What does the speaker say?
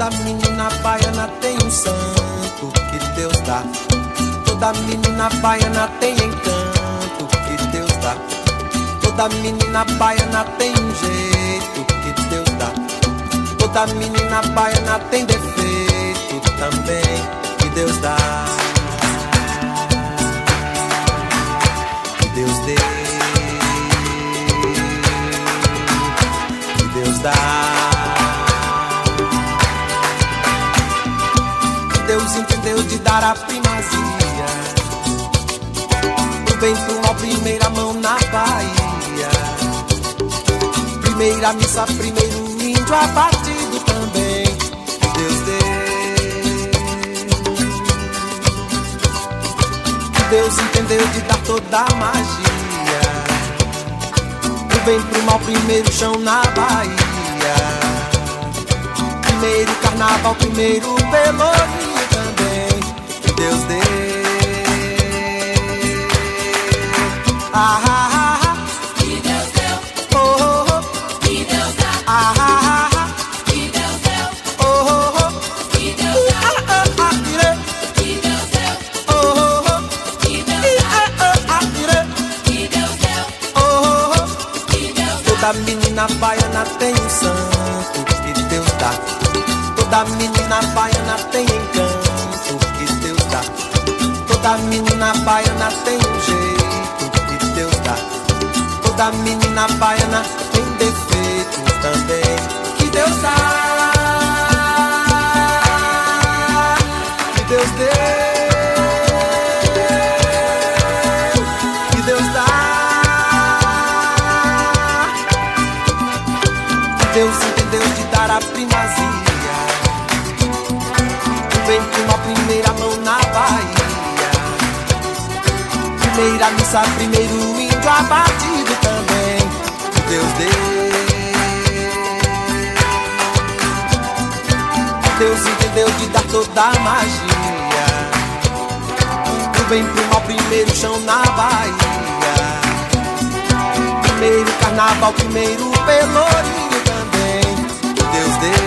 Toda menina baiana tem um santo que Deus dá. Toda menina baiana tem encanto que Deus dá. Toda menina baiana tem um jeito que Deus dá. Toda menina baiana tem defeito também que Deus dá. Que Deus dê, que Deus dá. Deus entendeu de dar a primazia pro bem, pro mal, primeira mão na Bahia. Primeira missa, primeiro índio abatido também. Deus deu. Deus entendeu de dar toda a magia pro bem, pro mal, primeiro chão na Bahia. Primeiro carnaval, primeiro pelourinho também. Deus deu. Ah, ah, ah. Que Deus deu. Oh, oh, oh. Que Deus dá. Ah, ah, ah. Que Deus deu. Oh, oh, oh. Que Deus dá. Ah, ah, ah, tirei. Que Deus deu. Oh, oh, oh. Que Deus Ah, dá. ah, ah, tirei. Que Deus deu. Oh, oh, oh. Que Deus dá. Toda menina baiana tem um santo que Deus dá. Toda menina baiana tem encanto que Deus dá. Toda menina baiana tem um jeito que Deus dá. Toda menina baiana tem defeito também que Deus dá. Que Deus deu. Que Deus dá. Deus entendeu de dar a primazia pro bem, pro mal, primeira mão na Bahia. Primeira missa, primeiro índio abatido também. Deus deu. Deus entendeu de dar toda a magia pro bem, pro mal, primeiro chão na Bahia. Primeiro carnaval, primeiro pelourinho também. Deus deu.